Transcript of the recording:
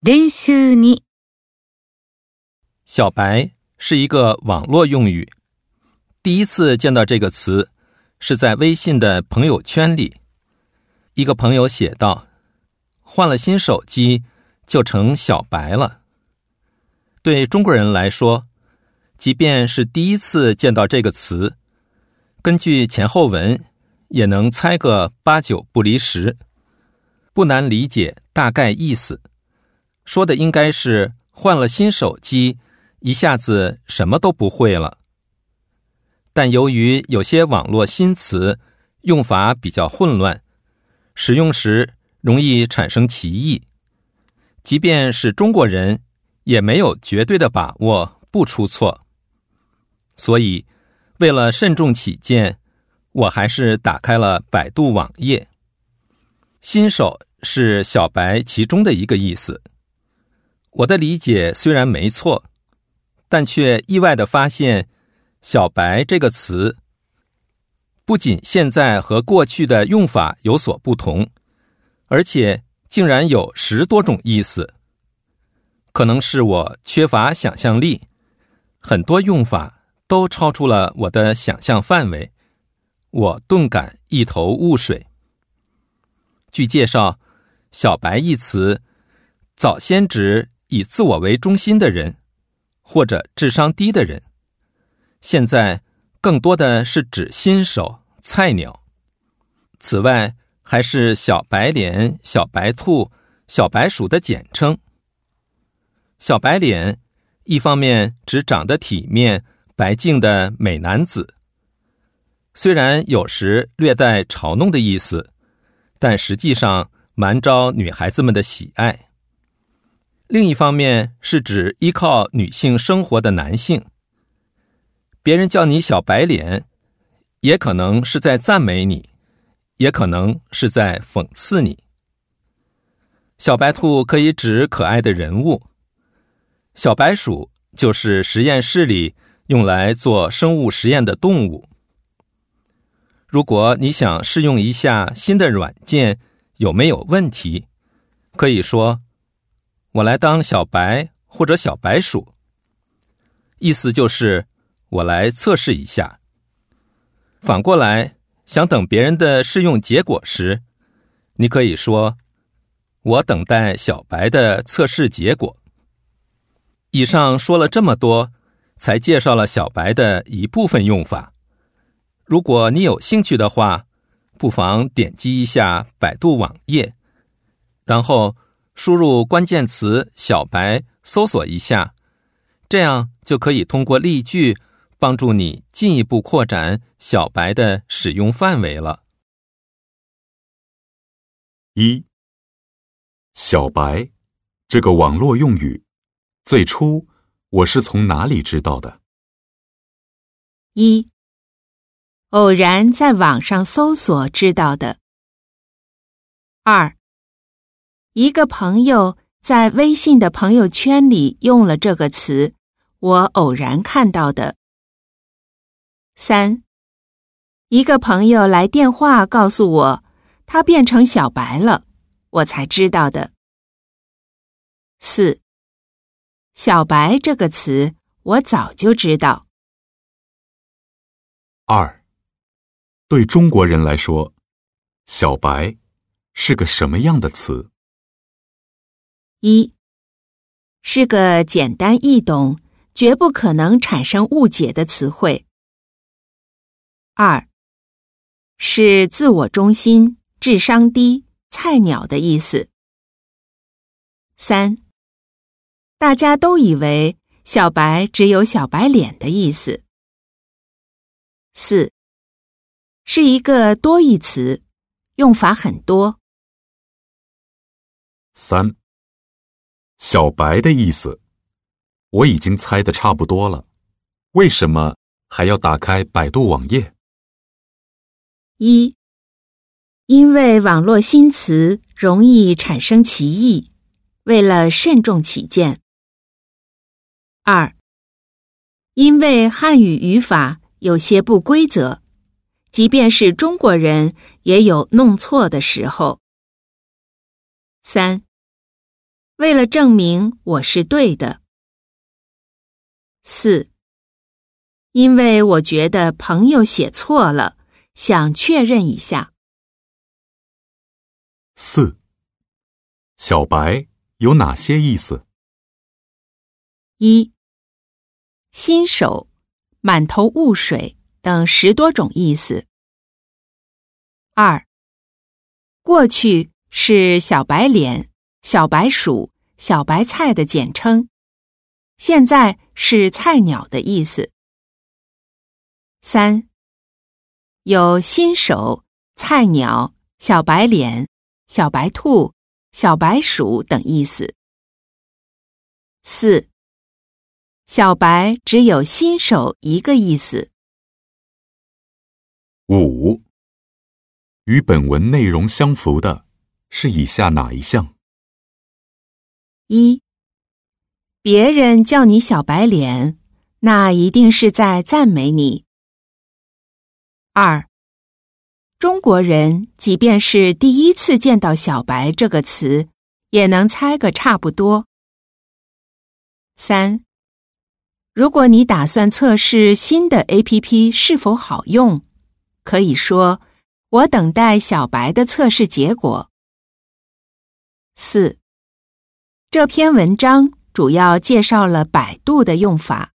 練習2。 小白是一个网络用语，第一次见到这个词是在微信的朋友圈里。一个朋友写道，换了新手机就成小白了。对中国人来说，即便是第一次见到这个词，根据前后文也能猜个8、9不离10，不难理解大概意思。说的应该是换了新手机，一下子什么都不会了。但由于有些网络新词用法比较混乱，使用时容易产生歧义，即便是中国人也没有绝对的把握不出错。所以为了慎重起见，我还是打开了百度网页。新手是小白其中的一个意思。我的理解虽然没错，但却意外地发现，小白这个词不仅现在和过去的用法有所不同，而且竟然有10多种意思。可能是我缺乏想象力，很多用法都超出了我的想象范围，我顿感一头雾水。据介绍，小白一词早先指以自我为中心的人，或者智商低的人，现在更多的是指新手、菜鸟。此外，还是小白脸、小白兔、小白鼠的简称。小白脸一方面指长得体面、白净的美男子，虽然有时略带嘲弄的意思，但实际上蛮招女孩子们的喜爱。另一方面是指依靠女性生活的男性。别人叫你小白脸，也可能是在赞美你，也可能是在讽刺你。小白兔可以指可爱的人物，小白鼠就是实验室里用来做生物实验的动物。如果你想试用一下新的软件有没有问题，可以说我来当小白或者小白鼠，意思就是我来测试一下。反过来，想等别人的试用结果时，你可以说我等待小白的测试结果。以上说了这么多，才介绍了小白的一部分用法。如果你有兴趣的话，不妨点击一下百度网页，然后输入关键词小白，搜索一下，这样就可以通过例句帮助你进一步扩展小白的使用范围了。 1. 小白这个网络用语，最初我是从哪里知道的 1. 偶然在网上搜索知道的。2. 一个朋友在微信的朋友圈里用了这个词，我偶然看到的。3. 一个朋友来电话告诉我，他变成小白了，我才知道的。4. 小白这个词，我早就知道。 2. 对中国人来说，小白是个什么样的词 1. 是个简单易懂，绝不可能产生误解的词汇。2. 是自我中心、智商低、菜鸟的意思。3. 大家都以为小白只有小白脸的意思。4. 是一个多义词，用法很多。 3. 小白的意思，我已经猜得差不多了，为什么还要打开百度网页 ？1. 因为网络新词容易产生歧义，为了慎重起见。2. 因为汉语语法有些不规则，即便是中国人也有弄错的时候。3. 为了证明我是对的。4. 因为我觉得朋友写错了，想确认一下。 4. 小白有哪些意思 1. 新手、满头雾水等10多种意思。2. 过去是小白脸、小白鼠、小白菜的简称，现在是菜鸟的意思。3. 有新手、菜鸟、小白脸、小白兔、小白鼠等意思。4. 小白只有新手一个意思。 5. 与本文内容相符的是以下哪一项 1. 别人叫你小白脸，那一定是在赞美你。2. 中国人即便是第一次见到小白这个词，也能猜个差不多。3. 如果你打算测试新的 APP 是否好用，可以说我等待小白的测试结果。4. 这篇文章主要介绍了百度的用法。